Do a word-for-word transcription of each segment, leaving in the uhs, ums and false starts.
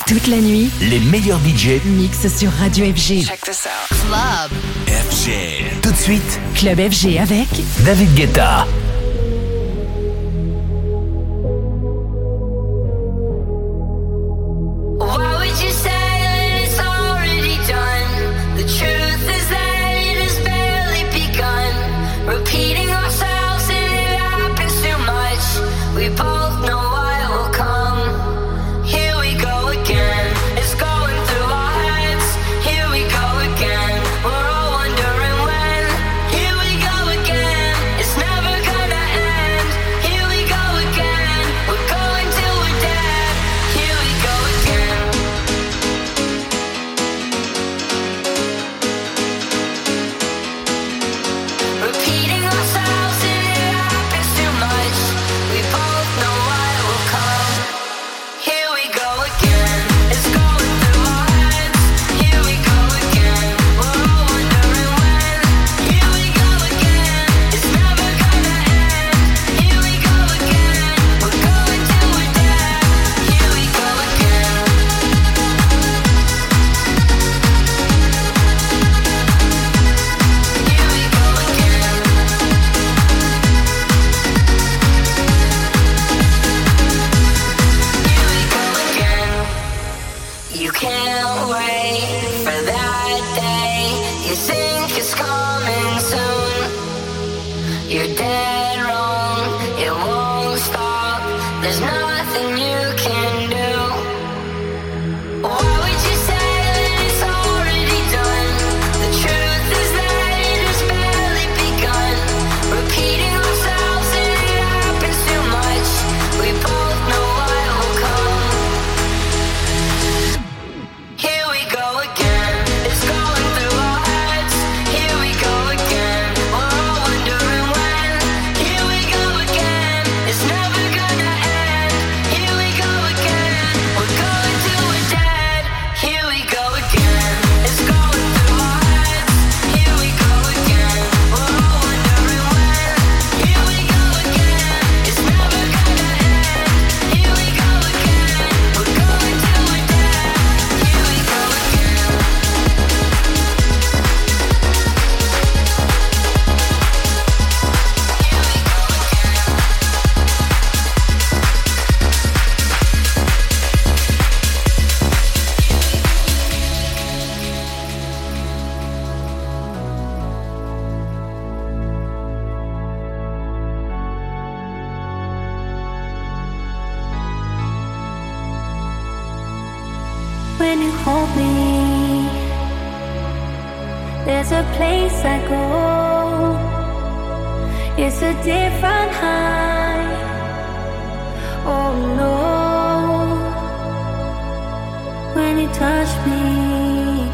Toute la nuit, les meilleurs D J mixent sur Radio F G. Check this out. Club F G. Tout de suite, Club F G avec David Guetta. When you hold me, there's a place I go. It's a different high. Oh no. When you touch me,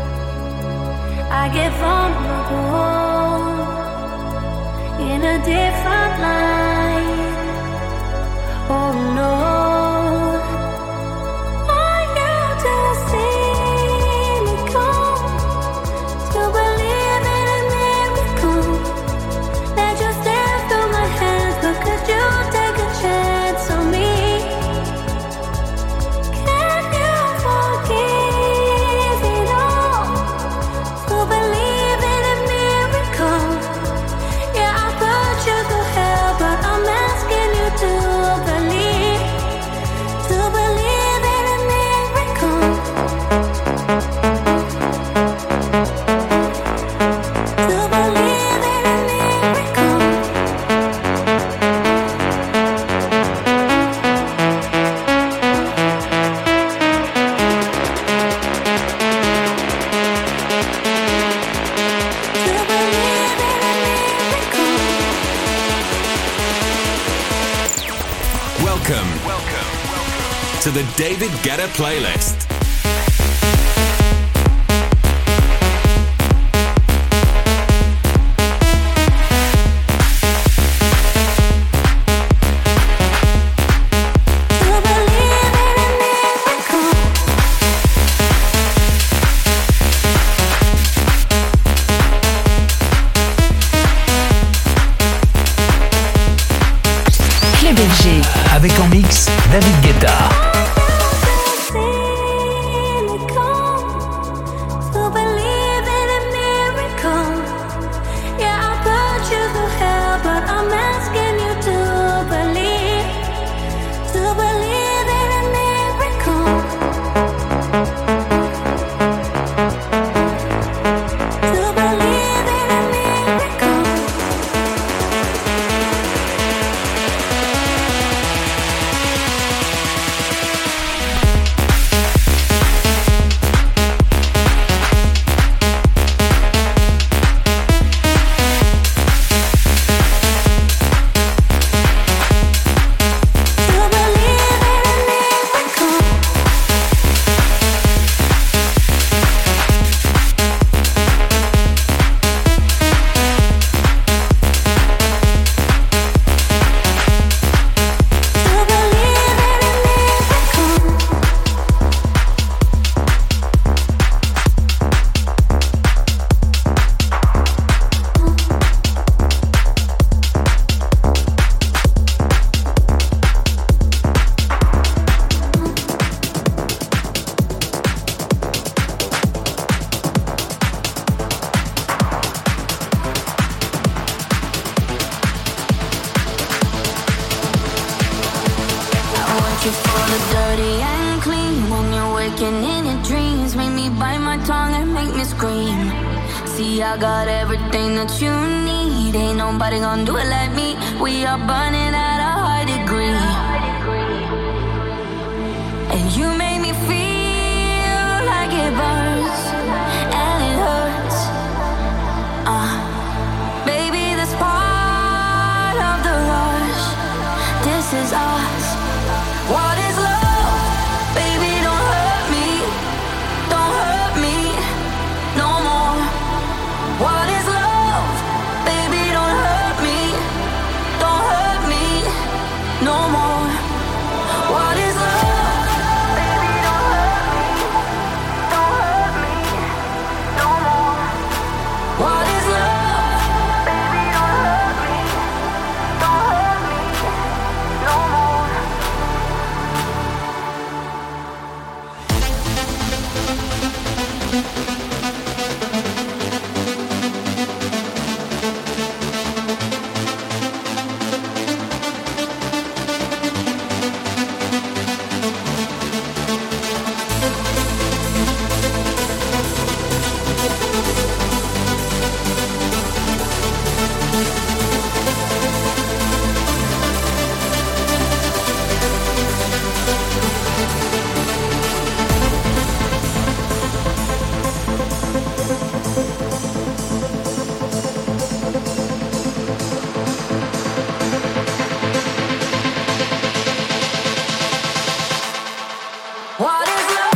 I get vulnerable in a different light. Oh no. To the David Guetta playlist. Club F G avec en mix David Guetta. See waking in your dreams, make me bite my tongue and make me scream. See, I got everything that you need. Ain't nobody gonna do it like me. We are burning at a high degree. And you make me feel like it burns and it hurts. Uh, baby, this part of the rush. This is us. What is love? Baby, don't hurt me. Don't hurt me no more. What is love? Baby, don't hurt me. Don't hurt me no more. What is love? Baby, don't hurt me. Don't hurt me no more. What is love? Baby, don't hurt me. Don't hurt me no more. What is love?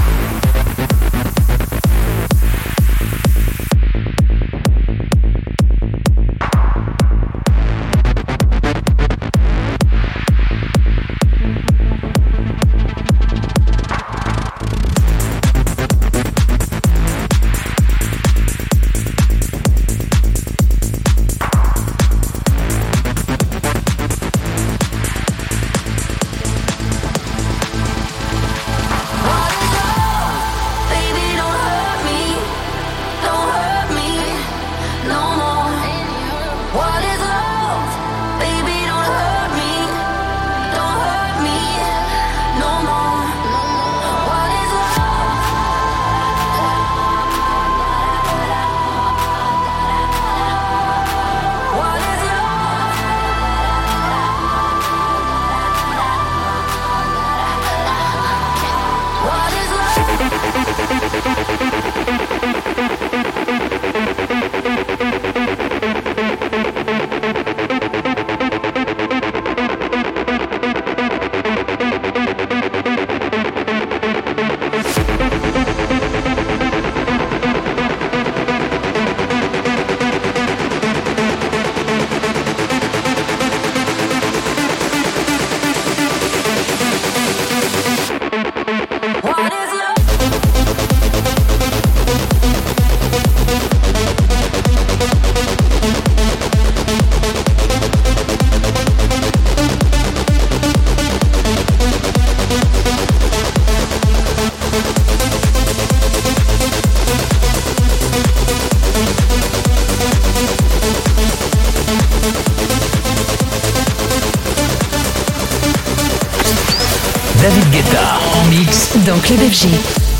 Baby, don't hurt me. Don't hurt me no more. What is love? Baby, don't hurt me. Don't hurt me no more. What is love? What is love? What is What is love? David Guetta en mix. Dans Club F G.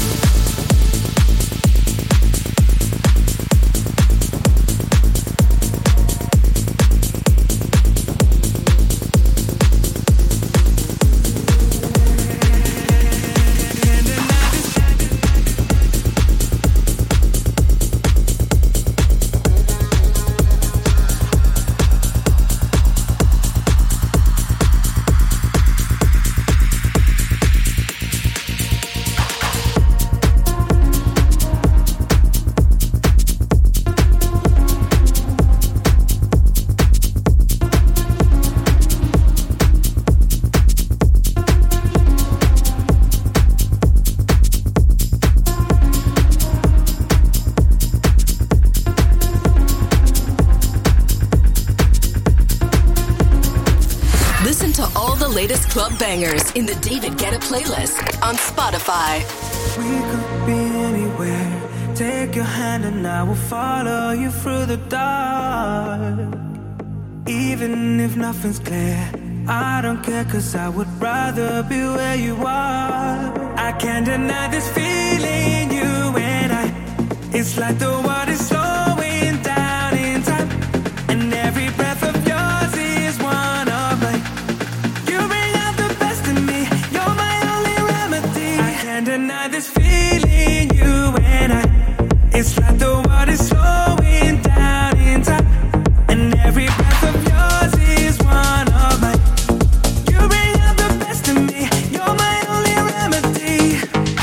Listen to all the latest club bangers in the David Guetta playlist on Spotify. We could be anywhere. Take your hand and I will follow you through the dark. Even if nothing's clear, I don't care, cause I would rather be where you are. I can't deny this feeling, you and I. It's like the water's slowing down in time, and every breath of yours is one of mine. You bring out the best in me, you're my only remedy. I can't deny this feeling, you and I. It's like the water's slowing down in time, and every breath of yours is one of mine. You bring out the best in me, you're my only remedy.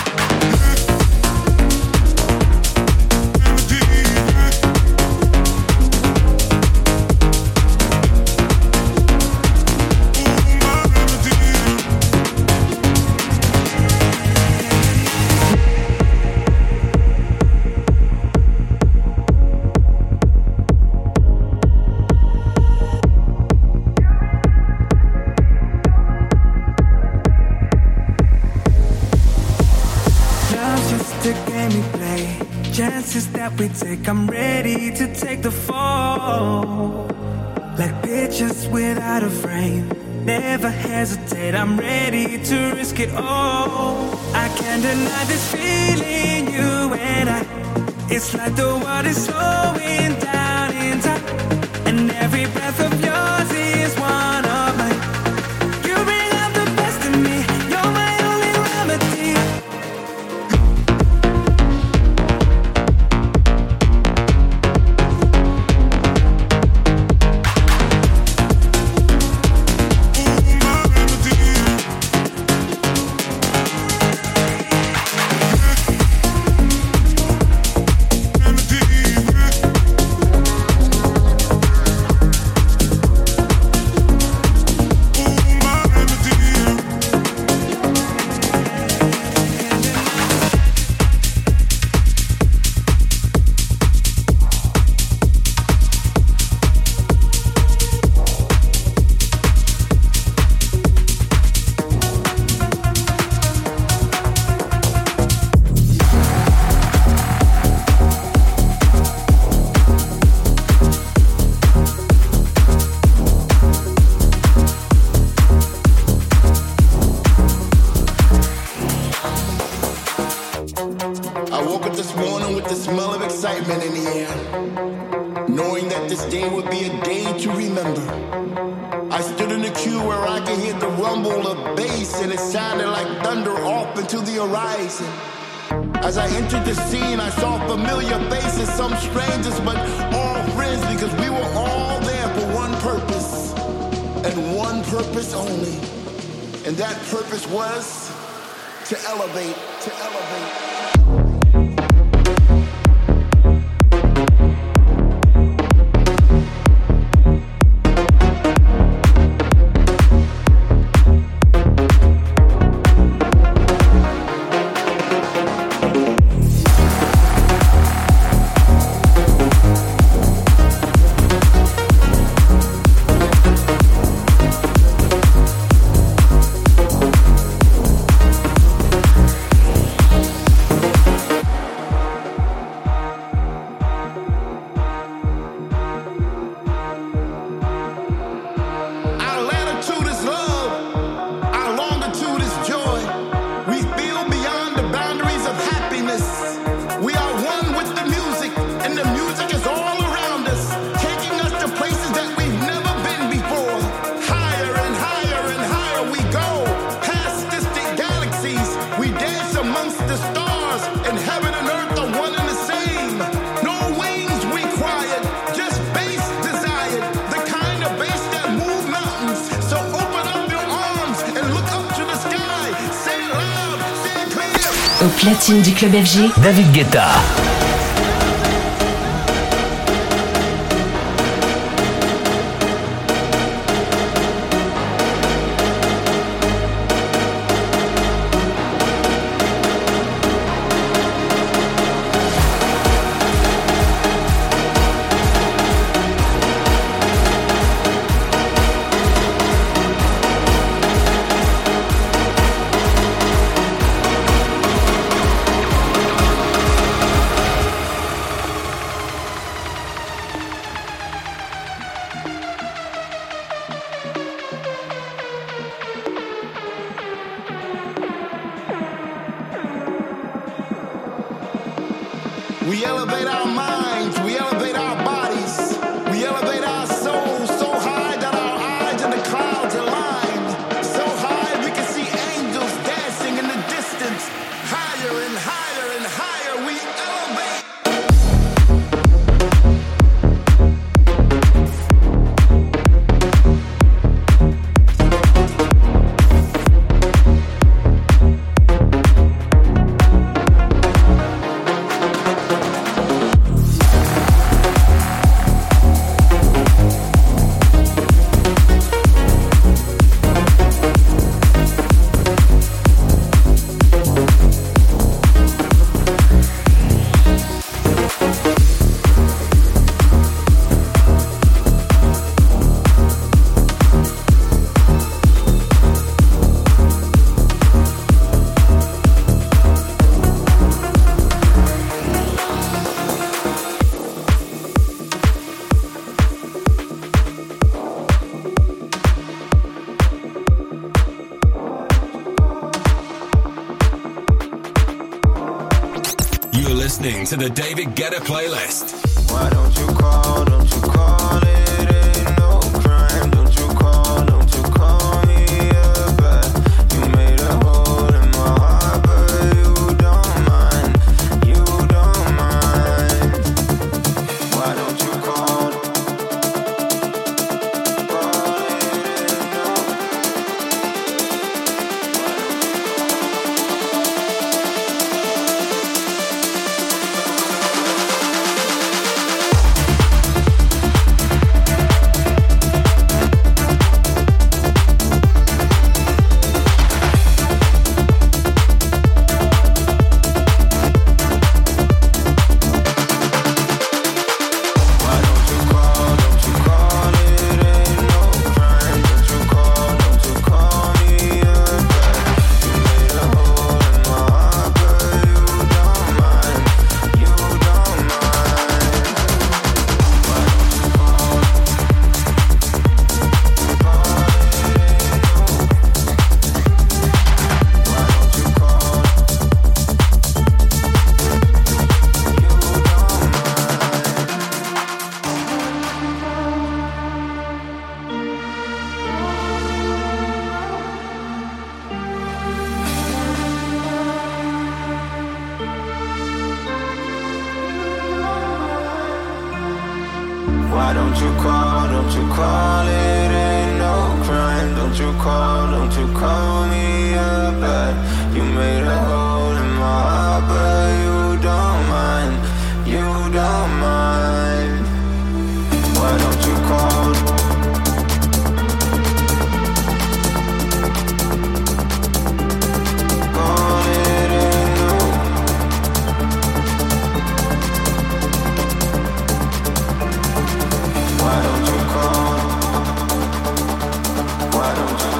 Chances that we take, I'm ready to take the fall. Like pictures without a frame, never hesitate, I'm ready to risk it all. I can't deny this feeling, you and I. It's like the water's slowing down in time, and every breath of yours is one of mine. You bring out the best in me, you're my only remedy. As I entered the scene, I saw familiar faces, some strangers, but all friends, because we were all there for one purpose, and one purpose only. And that purpose was to elevate, to elevate. Au platine du club F G, David Guetta. We elevate our minds, we elevate our bodies, we elevate our souls so high that our eyes in the clouds align. So high we can see angels dancing in the distance. Higher and higher and higher we elevate. To the David Guetta playlist. Why don't you call, don't you call, it ain't no crime. Don't you call, don't you call me up back. You made a hole in my heart, but you don't mind, you don't mind. Why don't you call, call it ain't no. Why don't you call, don't you call, it ain't no crime. Don't you call, don't you call me up back. You made a hole in my heart, but you don't mind, you don't mind. Why don't you call? Call it ain't no. Why don't you call? Why don't you?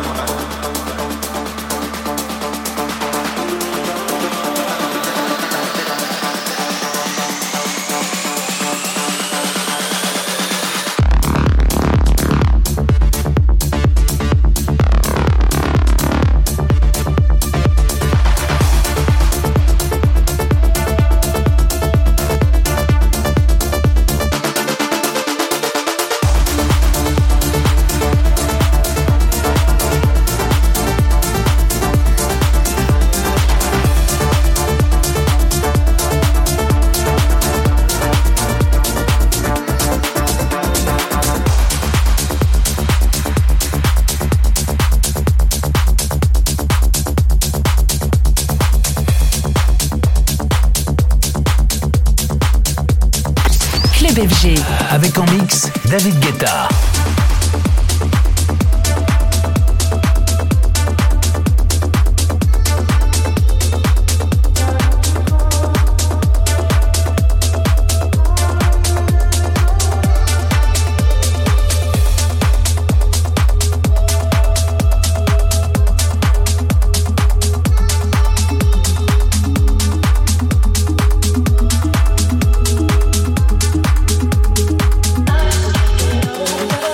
Avec en mix David Guetta. Oh,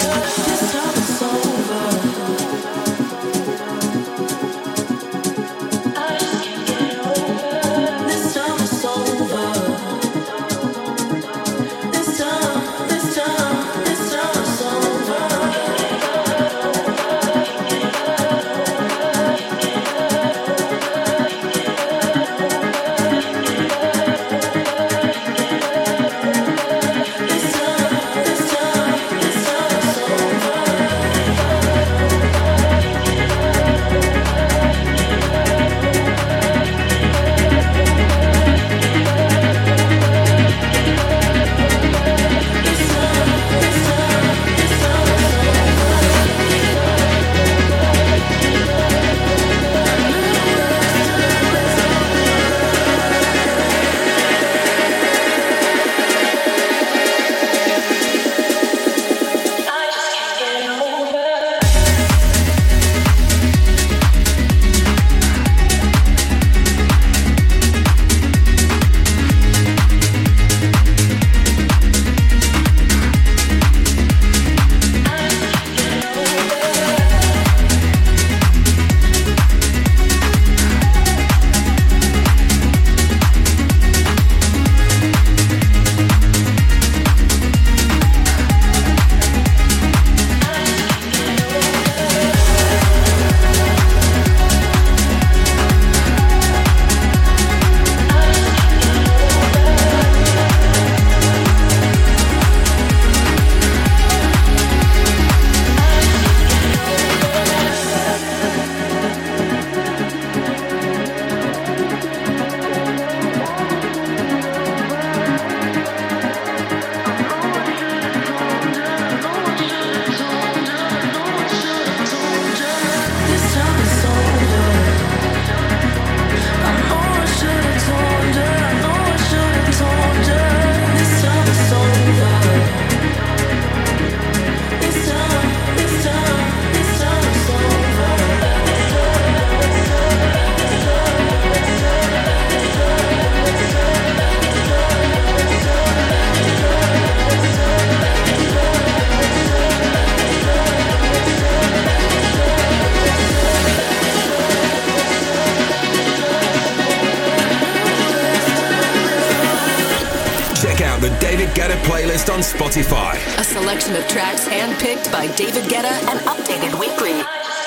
David Guetta playlist on Spotify. A selection of tracks handpicked by David Guetta and updated weekly.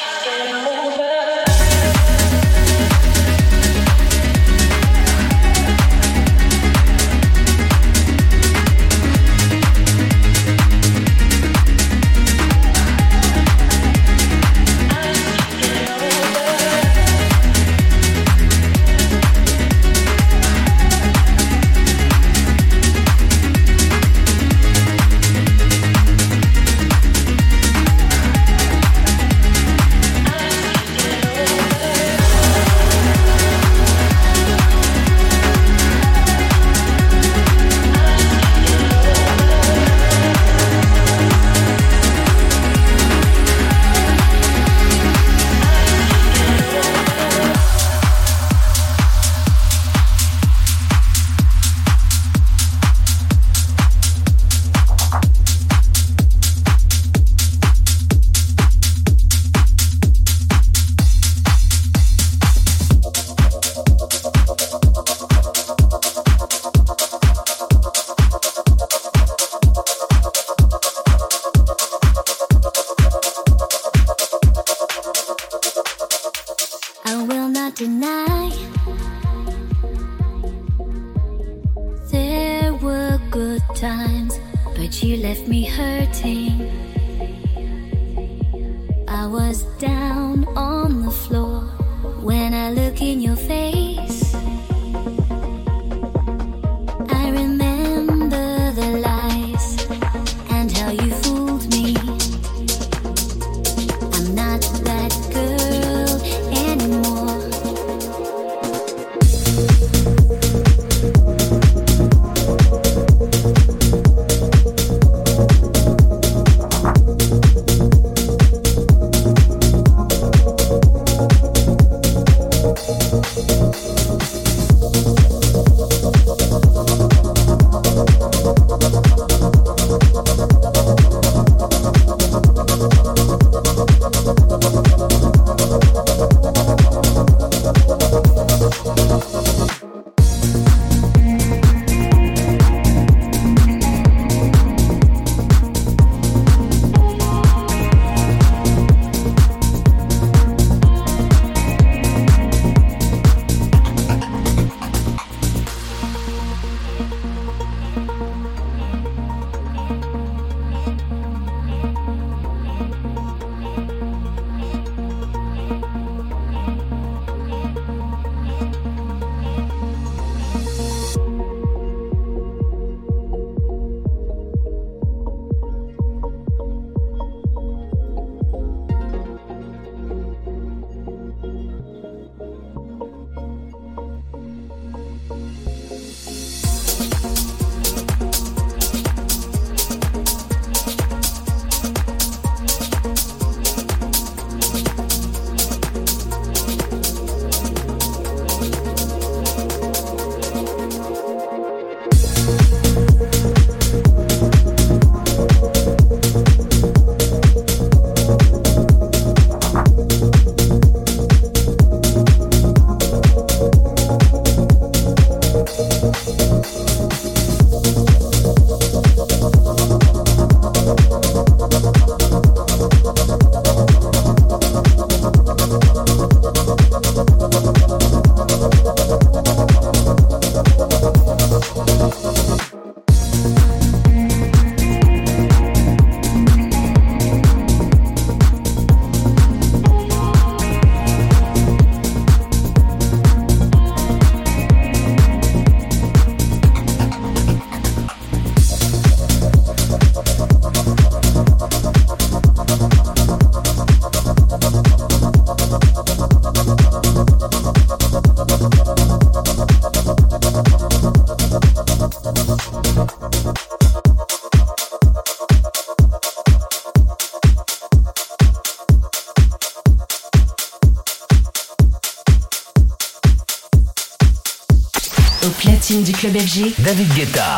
Au platine du club F G, David Guetta.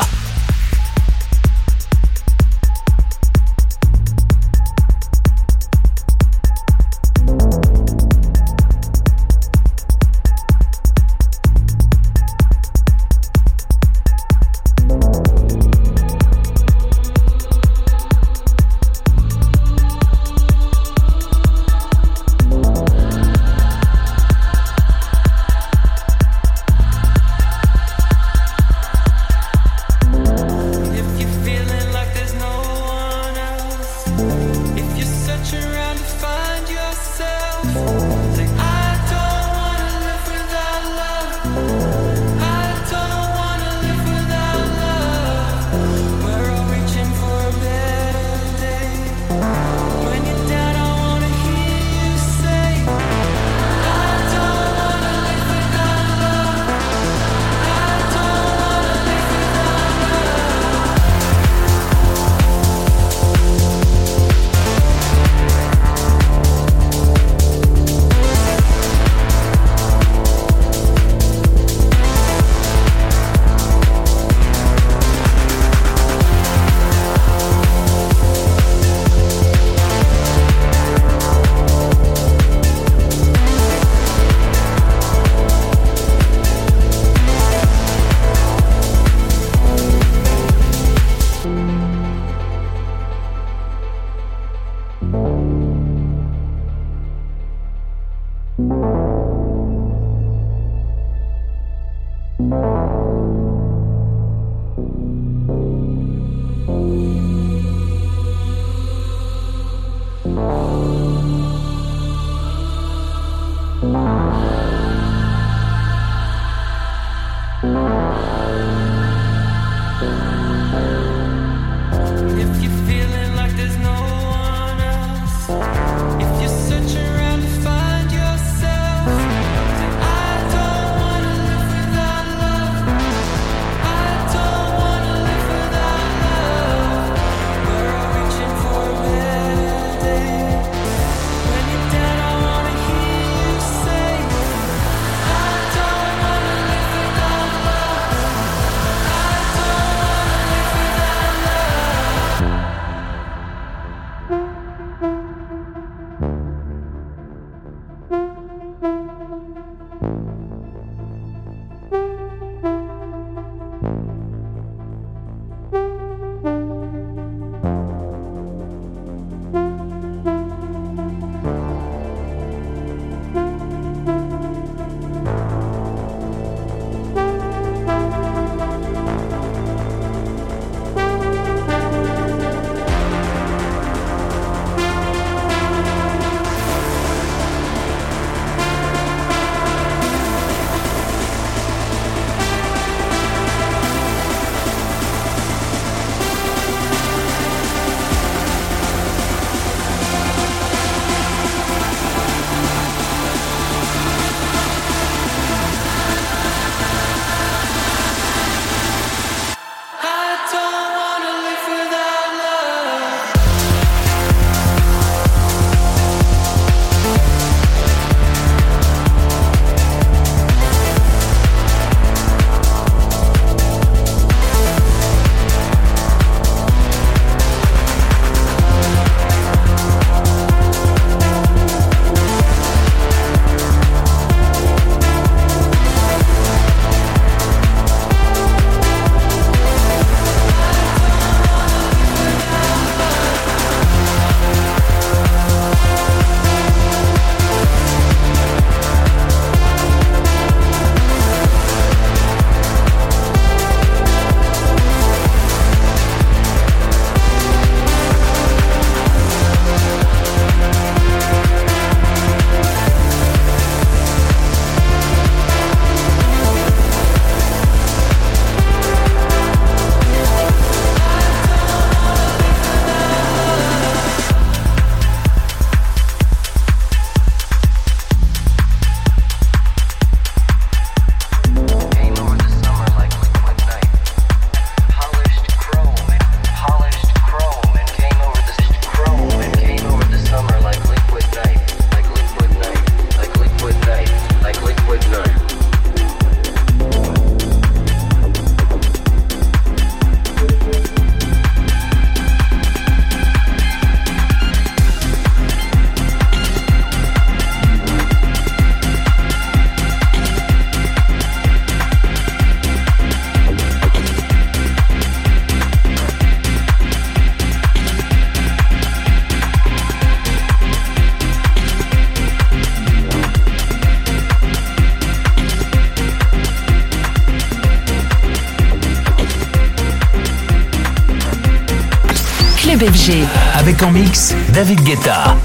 Club F G. Avec en mix David Guetta.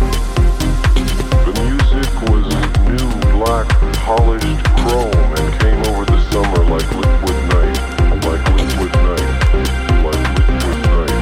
The music was new, black, polished chrome and came over the summer like liquid night, like liquid night, like liquid night.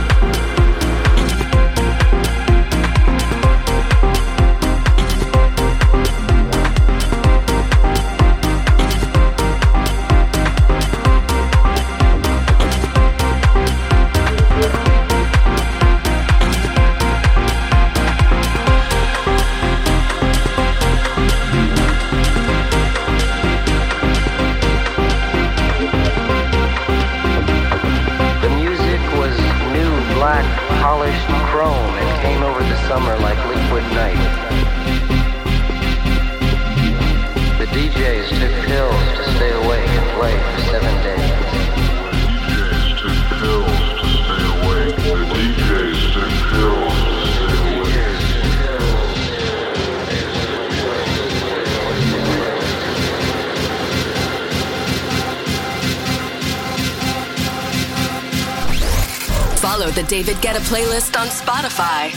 Polished chrome and came over the summer like liquid night. The D Js took pills to stay awake and play for seven days. The D Js took pills to stay awake. The D Js took pills to stay awake. Download the David Guetta playlist on Spotify.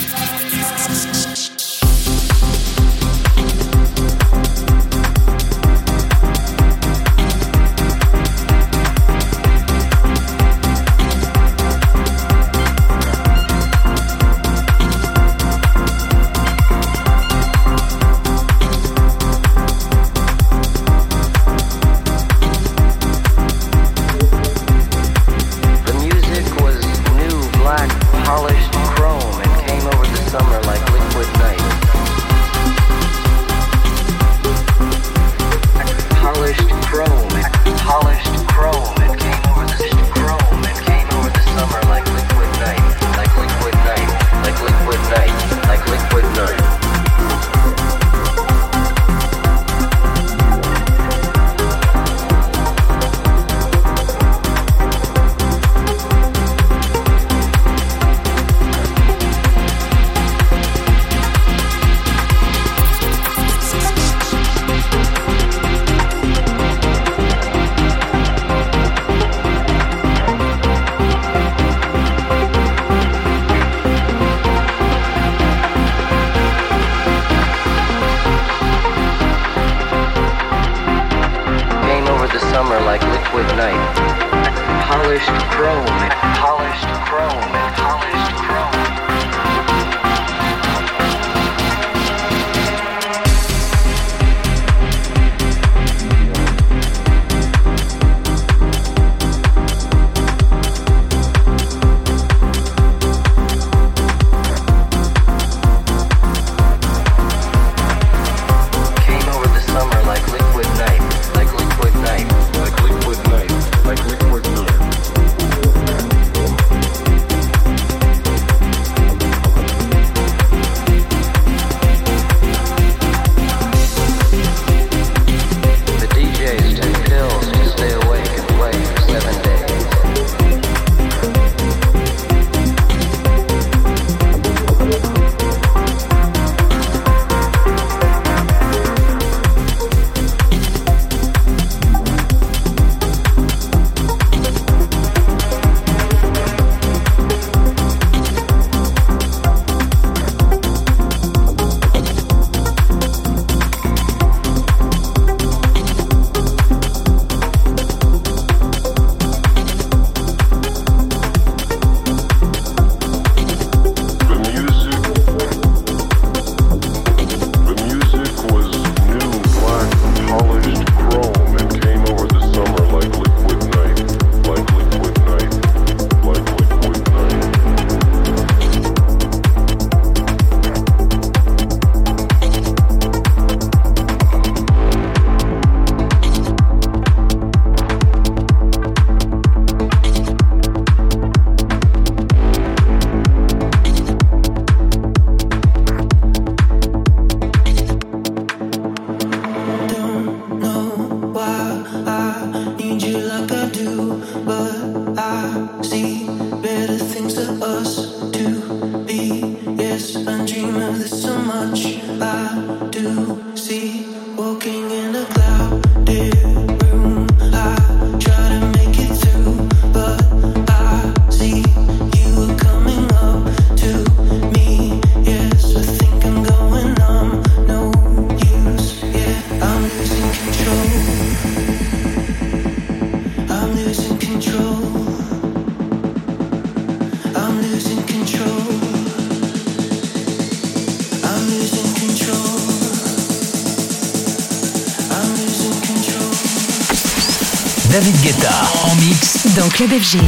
David Guetta en mix dans Club F G.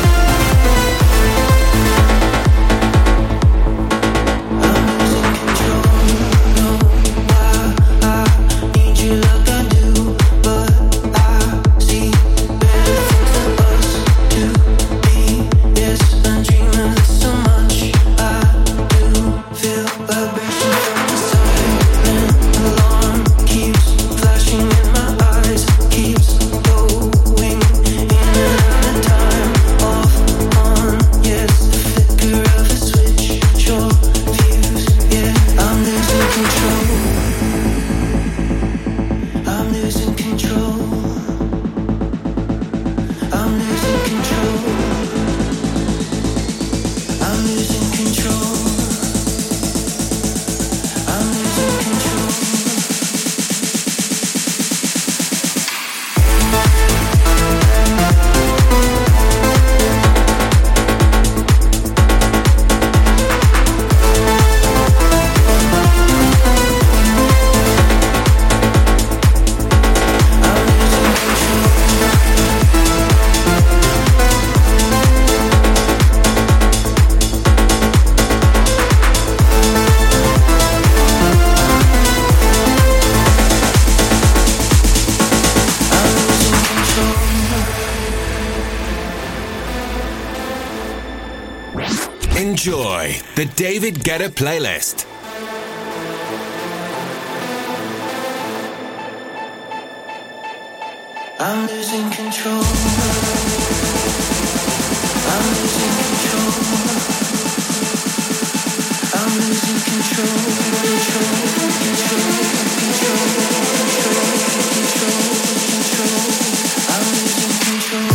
Control. Enjoy the David Guetta playlist. I'm losing control. I'm losing control. I'm losing control. Control, control, control, control, control, control. I'm losing control.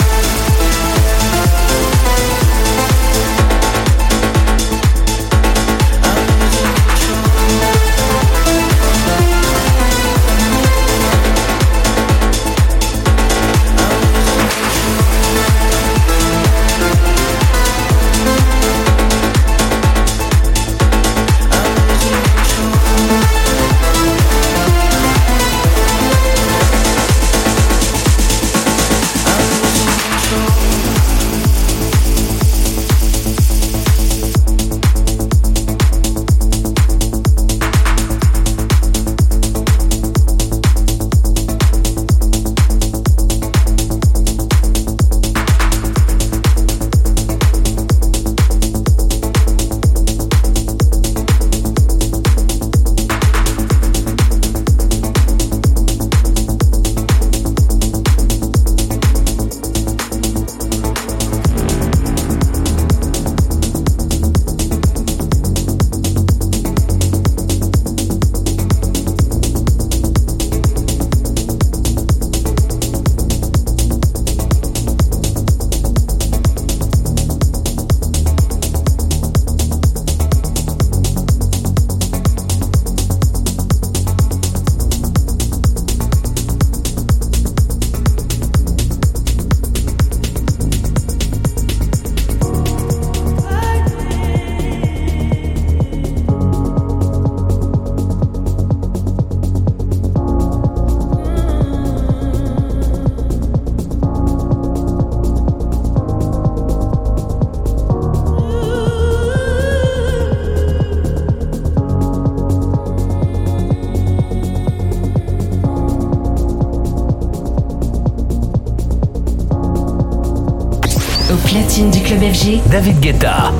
Platine du club F G, David Guetta.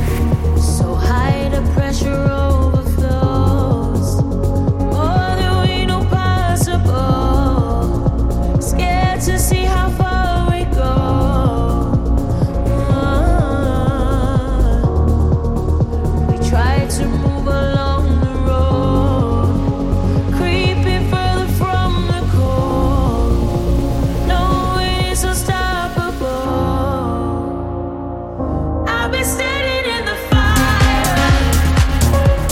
So high the pressure overflows, more than we know possible. Scared to see how far we go. We try to move along the road, creeping further from the cold. No way is unstoppable. I've been standing in the fire.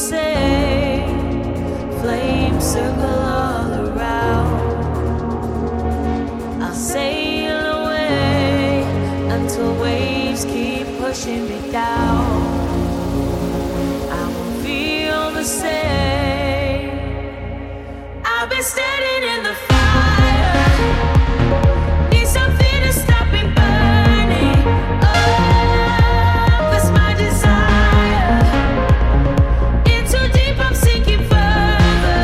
say, flames circle all around. I'll sail away until waves keep pushing me down. I won't feel the same. I've been standing in the fire. Need something to stop me burning. Oh, that's my desire. In too deep, I'm sinking further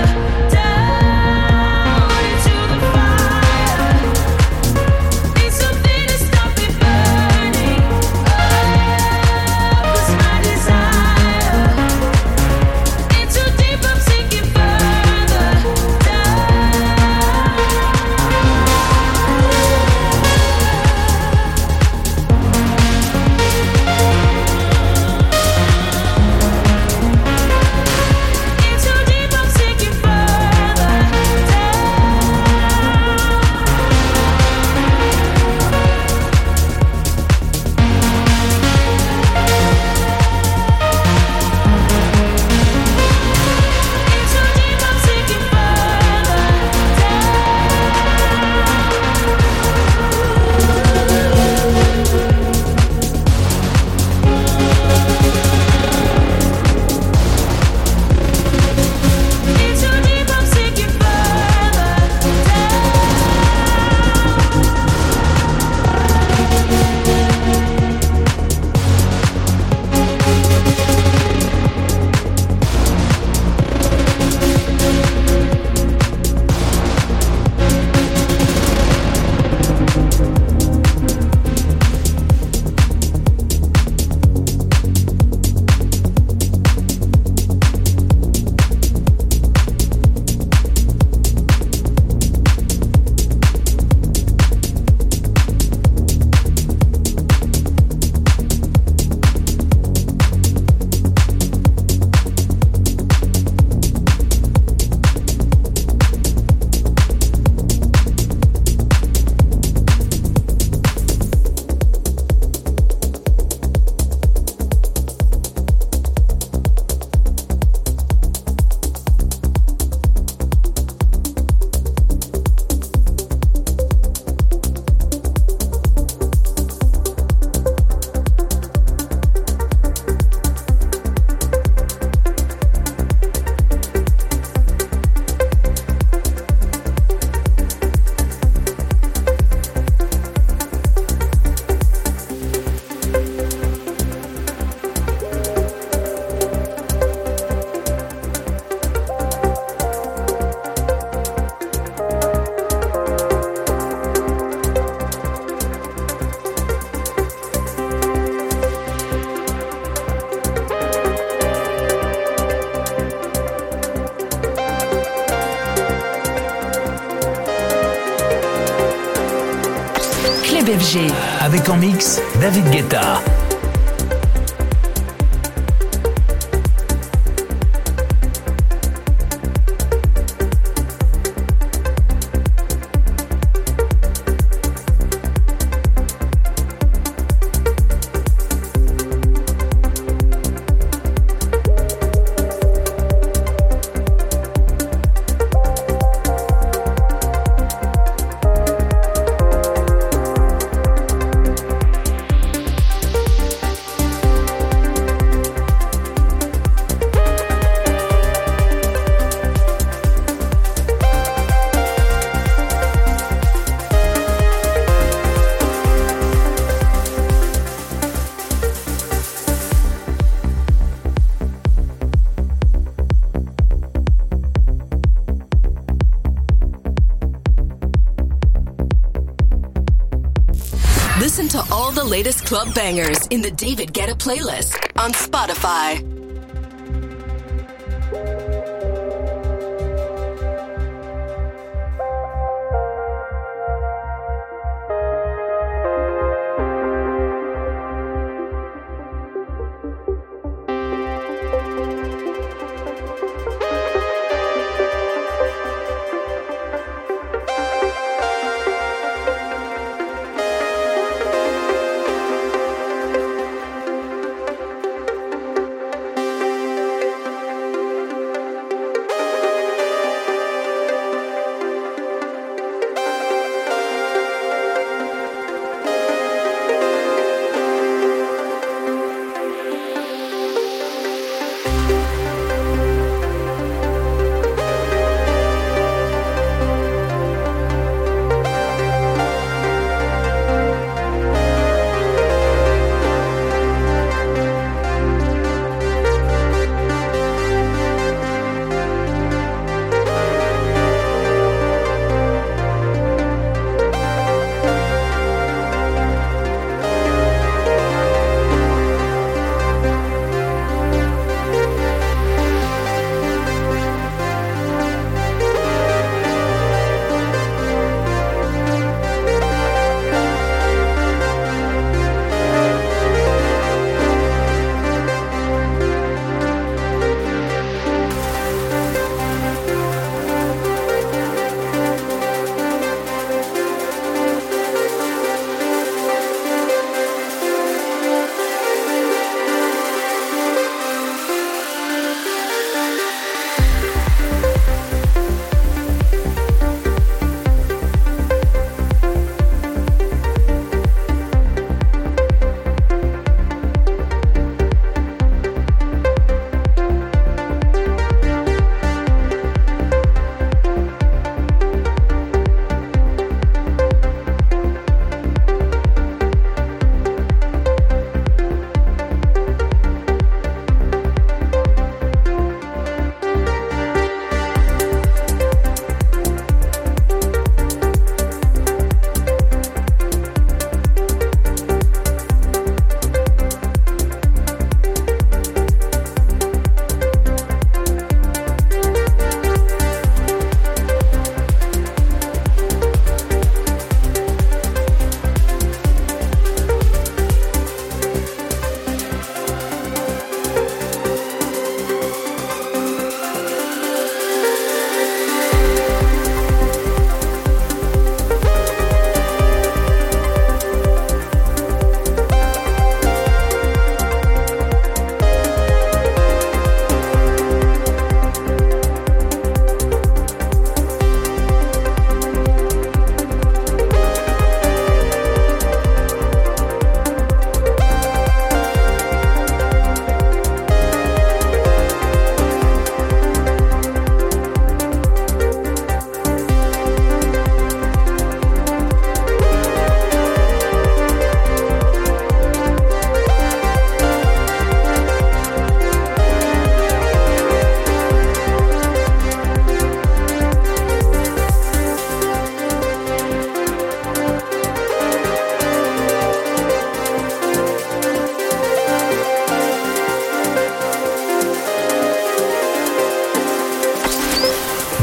down into the fire. Need something to stop me burning. Oh, that's my desire. In too deep, I'm sinking further down. In too deep, I'm sinking further In too deep, I'm sinking further In too deep, I'm sinking further Club F G. Avec en mix David Guetta. Listen to all the latest club bangers in the David Guetta playlist on Spotify.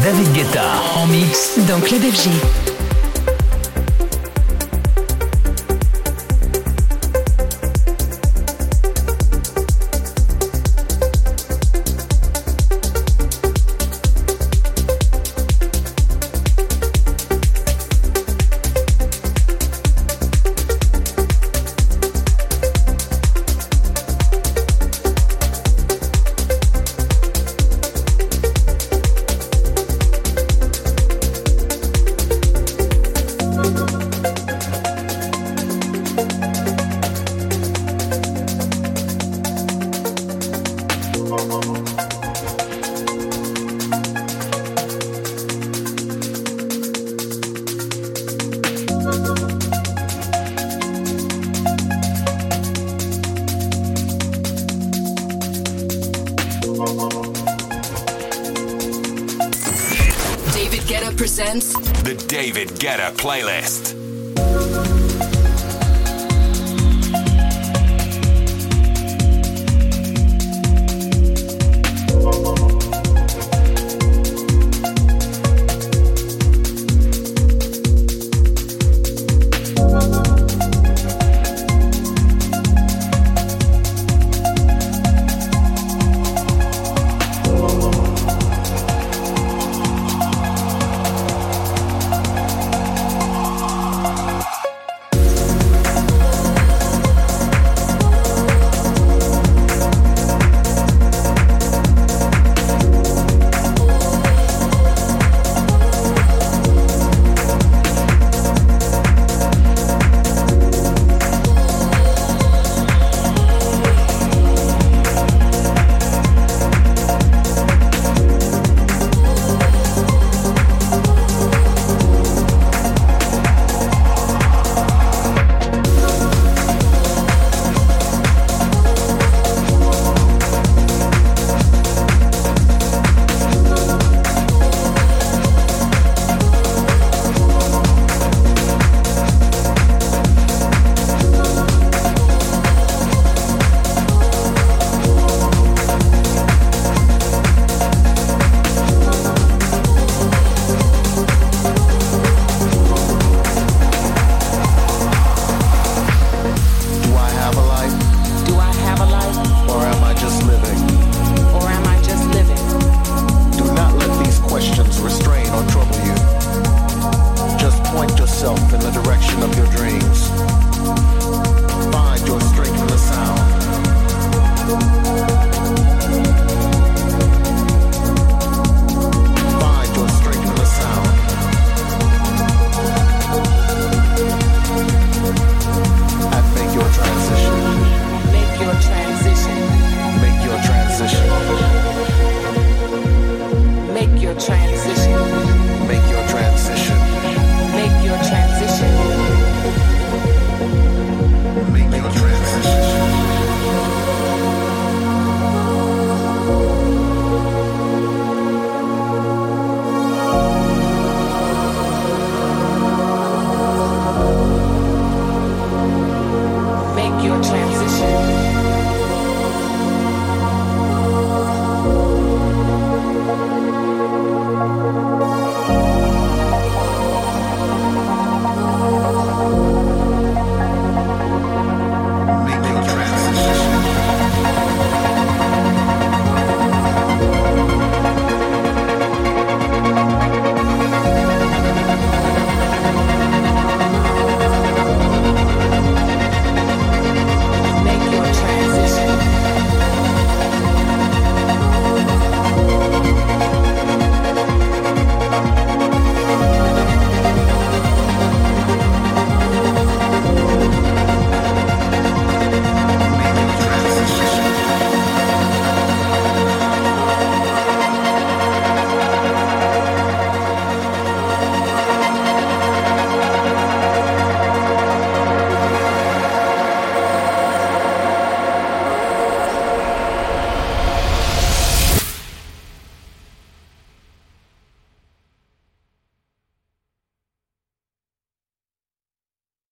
David Guetta en mix dans Club F G. David Guetta presents The David Guetta Playlist.